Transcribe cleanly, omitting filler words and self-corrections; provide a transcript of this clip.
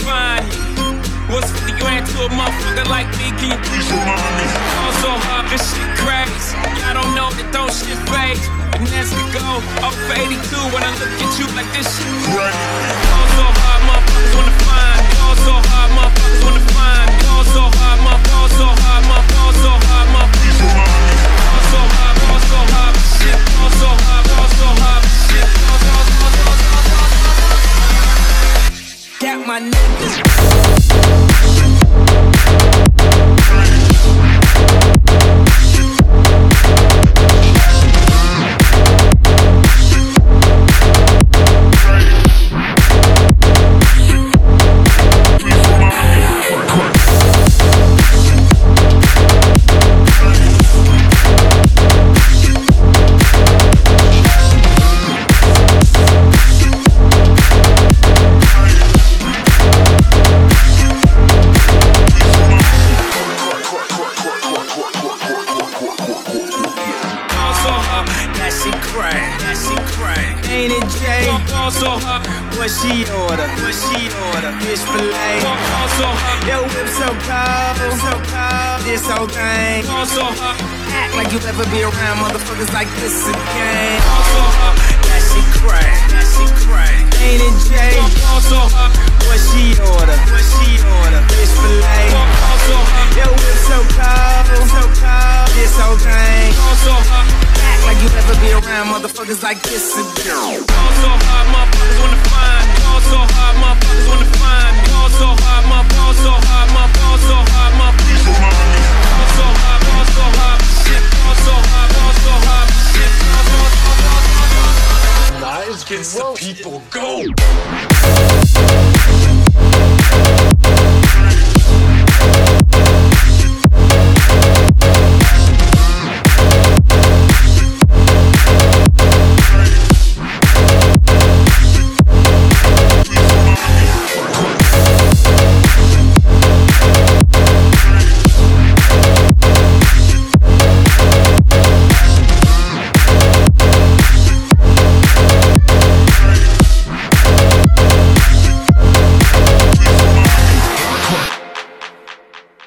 find you. What's 50 grand to a motherfucker like me? Can you please remind me? Fall so hard, this shit crazy. Y'all don't know that don't shit phase. And that's the go. Up for 82 when I look at you like this shit crazy. Fall so hard, motherfuckers wanna find me. Fall so hard, motherfuckers wanna find me. Fall so hard, fall so hard, fall so hard, please remind me. Fall so hard, shit. Fall so hard, shit. Got my niggas. Ain't it Jay? What she order? Fish fillet. Yo, whip so cold. This whole thing. Act like you ever be around motherfuckers like this again. That she crack. Ain't it Jay? What she order? Fish fillet. Yo, whip so cold. This whole thing. Act like you ever be around motherfuckers like this again. Fall so hard, motherfuckers wanna find me. Fall so hard, motherfuckers wanna find me. Fall so hard, fall so hard, please remind me. Fall so hard, shit. Fall so hard, shit. Lies against the people, go!